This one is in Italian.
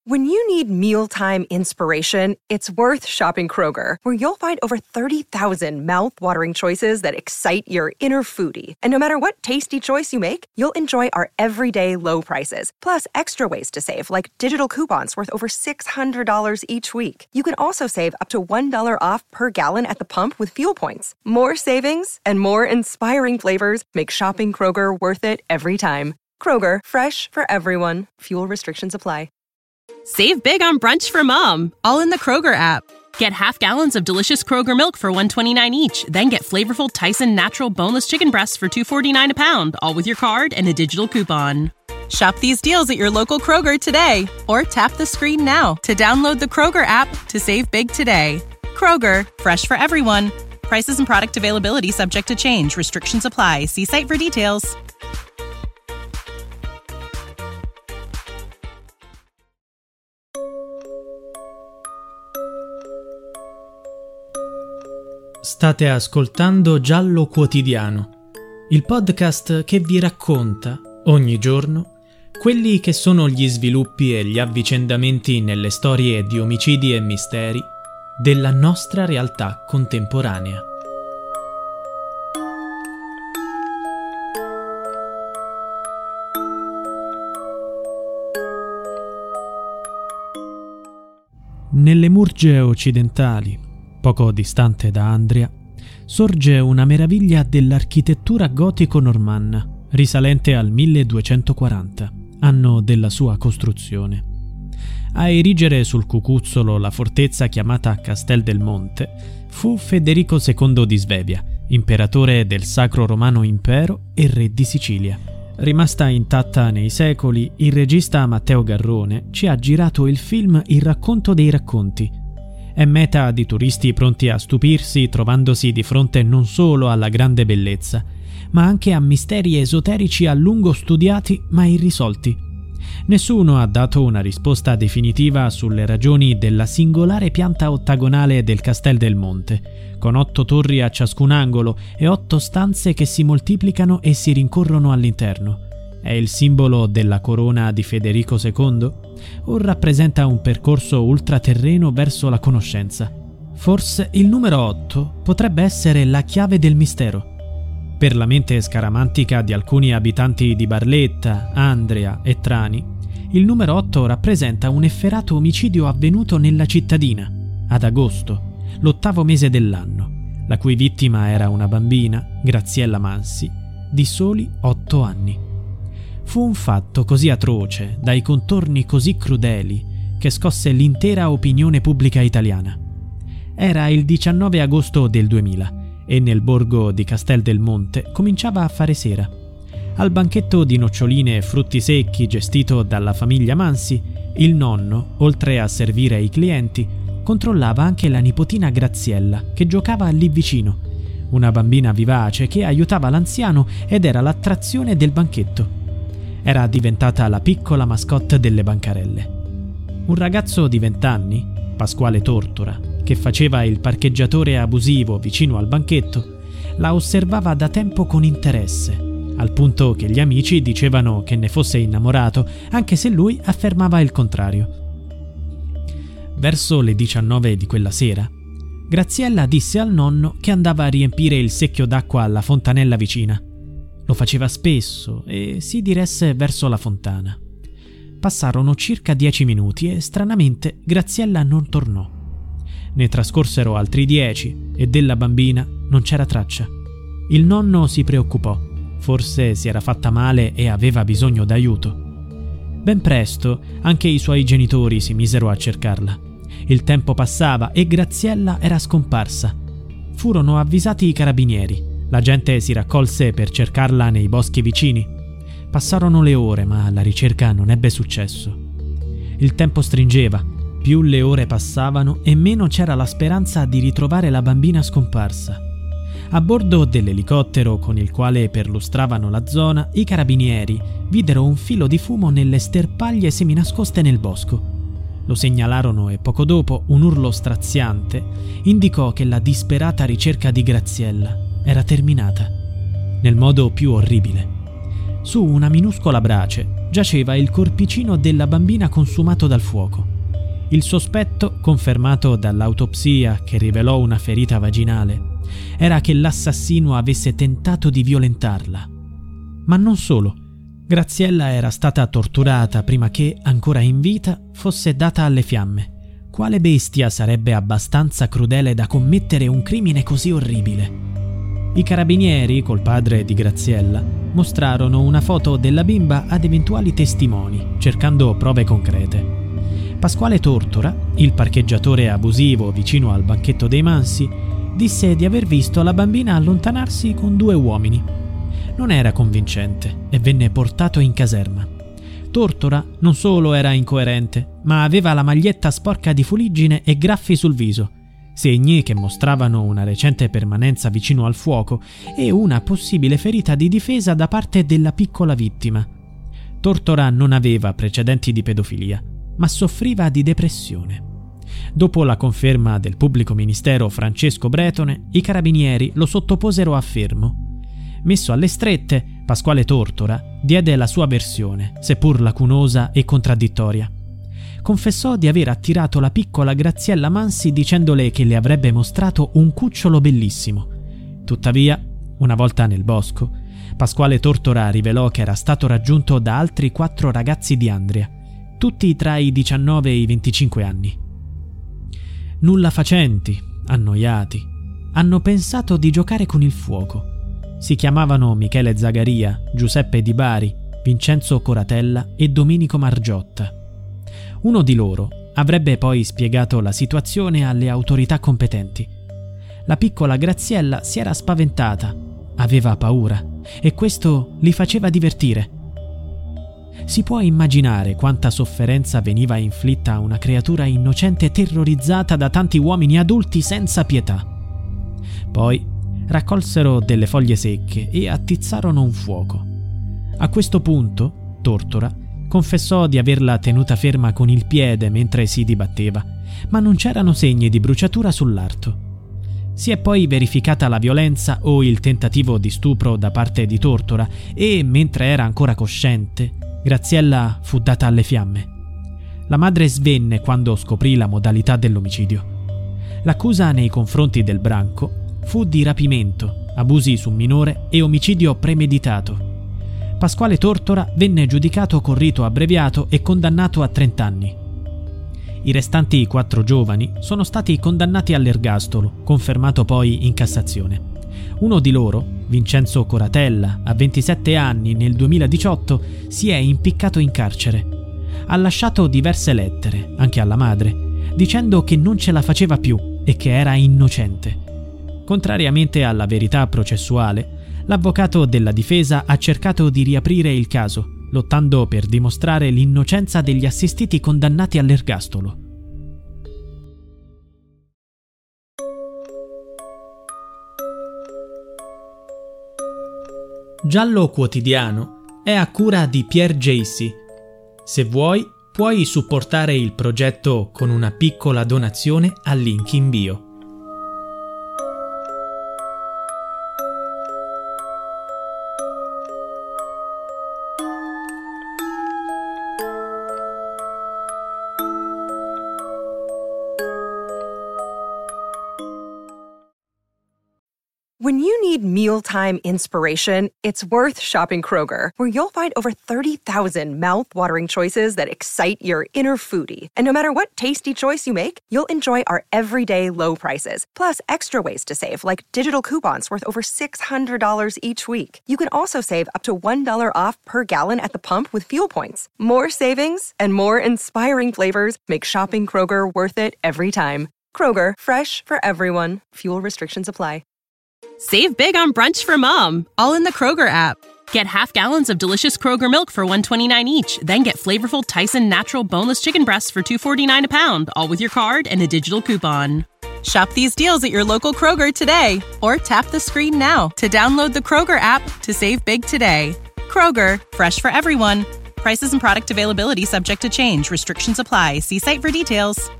When you need mealtime inspiration, it's worth shopping Kroger, where you'll find over 30,000 mouth-watering choices that excite your inner foodie. And no matter what tasty choice you make, you'll enjoy our everyday low prices, plus extra ways to save, like digital coupons worth over $600 each week. You can also save up to $1 off per gallon at the pump with fuel points. More savings and more inspiring flavors make shopping Kroger worth it every time. Kroger, fresh for everyone. Fuel restrictions apply. Save big on brunch for mom, all in the Kroger app. Get half gallons of delicious Kroger milk for $1.29 each. Then get flavorful Tyson natural boneless chicken breasts for $2.49 a pound, all with your card and a digital coupon. Shop these deals at your local Kroger today, or tap the screen now to download the Kroger app to save big today. Kroger, fresh for everyone. Prices and product availability subject to change. Restrictions apply. See site for details. State ascoltando Giallo Quotidiano, il podcast che vi racconta, ogni giorno, quelli che sono gli sviluppi e gli avvicendamenti nelle storie di omicidi e misteri della nostra realtà contemporanea. Nelle Murge occidentali, poco distante da Andria, sorge una meraviglia dell'architettura gotico-normanna, risalente al 1240, anno della sua costruzione. A erigere sul cucuzzolo la fortezza chiamata Castel del Monte fu Federico II di Svevia, imperatore del Sacro Romano Impero e re di Sicilia. Rimasta intatta nei secoli, il regista Matteo Garrone ci ha girato il film Il racconto dei racconti. È meta di turisti pronti a stupirsi trovandosi di fronte non solo alla grande bellezza, ma anche a misteri esoterici a lungo studiati ma irrisolti. Nessuno ha dato una risposta definitiva sulle ragioni della singolare pianta ottagonale del Castel del Monte, con 8 torri a ciascun angolo e 8 stanze che si moltiplicano e si rincorrono all'interno. È il simbolo della corona di Federico II? O rappresenta un percorso ultraterreno verso la conoscenza? Forse il numero 8 potrebbe essere la chiave del mistero. Per la mente scaramantica di alcuni abitanti di Barletta, Andria e Trani, il numero 8 rappresenta un efferato omicidio avvenuto nella cittadina, ad agosto, l'8° mese dell'anno, la cui vittima era una bambina, Graziella Mansi, di soli 8 anni. Fu un fatto così atroce, dai contorni così crudeli, che scosse l'intera opinione pubblica italiana. Era il 19 agosto del 2000 e nel borgo di Castel del Monte cominciava a fare sera. Al banchetto di noccioline e frutti secchi gestito dalla famiglia Mansi, il nonno, oltre a servire i clienti, controllava anche la nipotina Graziella, che giocava lì vicino, una bambina vivace che aiutava l'anziano ed era l'attrazione del banchetto. Era diventata la piccola mascotte delle bancarelle. Un ragazzo di 20 anni, Pasquale Tortora, che faceva il parcheggiatore abusivo vicino al banchetto, la osservava da tempo con interesse, al punto che gli amici dicevano che ne fosse innamorato, anche se lui affermava il contrario. Verso le 19 di quella sera, Graziella disse al nonno che andava a riempire il secchio d'acqua alla fontanella vicina. Lo faceva spesso e si diresse verso la fontana. Passarono circa 10 minuti e stranamente Graziella non tornò. Ne trascorsero altri 10 e della bambina non c'era traccia. Il nonno si preoccupò, forse si era fatta male e aveva bisogno d'aiuto. Ben presto anche i suoi genitori si misero a cercarla. Il tempo passava e Graziella era scomparsa. Furono avvisati i carabinieri. La gente si raccolse per cercarla nei boschi vicini. Passarono le ore, ma la ricerca non ebbe successo. Il tempo stringeva, più le ore passavano e meno c'era la speranza di ritrovare la bambina scomparsa. A bordo dell'elicottero con il quale perlustravano la zona, i carabinieri videro un filo di fumo nelle sterpaglie seminascoste nel bosco. Lo segnalarono e poco dopo un urlo straziante indicò che la disperata ricerca di Graziella era terminata, nel modo più orribile. Su una minuscola brace, giaceva il corpicino della bambina consumato dal fuoco. Il sospetto, confermato dall'autopsia che rivelò una ferita vaginale, era che l'assassino avesse tentato di violentarla. Ma non solo. Graziella era stata torturata prima che, ancora in vita, fosse data alle fiamme. Quale bestia sarebbe abbastanza crudele da commettere un crimine così orribile? I carabinieri, col padre di Graziella, mostrarono una foto della bimba ad eventuali testimoni, cercando prove concrete. Pasquale Tortora, il parcheggiatore abusivo vicino al banchetto dei Mansi, disse di aver visto la bambina allontanarsi con 2 uomini. Non era convincente e venne portato in caserma. Tortora non solo era incoerente, ma aveva la maglietta sporca di fuliggine e graffi sul viso, segni che mostravano una recente permanenza vicino al fuoco e una possibile ferita di difesa da parte della piccola vittima. Tortora non aveva precedenti di pedofilia, ma soffriva di depressione. Dopo la conferma del pubblico ministero Francesco Bretone, i carabinieri lo sottoposero a fermo. Messo alle strette, Pasquale Tortora diede la sua versione, seppur lacunosa e contraddittoria. Confessò di aver attirato la piccola Graziella Mansi dicendole che le avrebbe mostrato un cucciolo bellissimo. Tuttavia, una volta nel bosco, Pasquale Tortora rivelò che era stato raggiunto da altri 4 ragazzi di Andria, tutti tra i 19 e i 25 anni. Nulla facenti, annoiati, hanno pensato di giocare con il fuoco. Si chiamavano Michele Zagaria, Giuseppe Di Bari, Vincenzo Coratella e Domenico Margiotta. Uno di loro avrebbe poi spiegato la situazione alle autorità competenti. La piccola Graziella si era spaventata, aveva paura e questo li faceva divertire. Si può immaginare quanta sofferenza veniva inflitta a una creatura innocente terrorizzata da tanti uomini adulti senza pietà. Poi raccolsero delle foglie secche e attizzarono un fuoco. A questo punto, Tortora confessò di averla tenuta ferma con il piede mentre si dibatteva, ma non c'erano segni di bruciatura sull'arto. Si è poi verificata la violenza o il tentativo di stupro da parte di Tortora e, mentre era ancora cosciente, Graziella fu data alle fiamme. La madre svenne quando scoprì la modalità dell'omicidio. L'accusa nei confronti del branco fu di rapimento, abusi su minore e omicidio premeditato. Pasquale Tortora venne giudicato con rito abbreviato e condannato a 30 anni. I restanti 4 giovani sono stati condannati all'ergastolo, confermato poi in Cassazione. Uno di loro, Vincenzo Coratella, a 27 anni nel 2018, si è impiccato in carcere. Ha lasciato diverse lettere, anche alla madre, dicendo che non ce la faceva più e che era innocente. Contrariamente alla verità processuale, l'avvocato della difesa ha cercato di riaprire il caso, lottando per dimostrare l'innocenza degli assistiti condannati all'ergastolo. Giallo Quotidiano è a cura di Pierre Jacy. Se vuoi, puoi supportare il progetto con una piccola donazione al link in bio. When you need mealtime inspiration, it's worth shopping Kroger, where you'll find over 30,000 mouth-watering choices that excite your inner foodie. And no matter what tasty choice you make, you'll enjoy our everyday low prices, plus extra ways to save, like digital coupons worth over $600 each week. You can also save up to $1 off per gallon at the pump with fuel points. More savings and more inspiring flavors make shopping Kroger worth it every time. Kroger, fresh for everyone. Fuel restrictions apply. Save big on brunch for mom, all in the Kroger app. Get half gallons of delicious Kroger milk for $1.29 each. Then get flavorful Tyson natural boneless chicken breasts for $2.49 a pound, all with your card and a digital coupon. Shop these deals at your local Kroger today, or tap the screen now to download the Kroger app to save big today. Kroger, fresh for everyone. Prices and product availability subject to change. Restrictions apply. See site for details.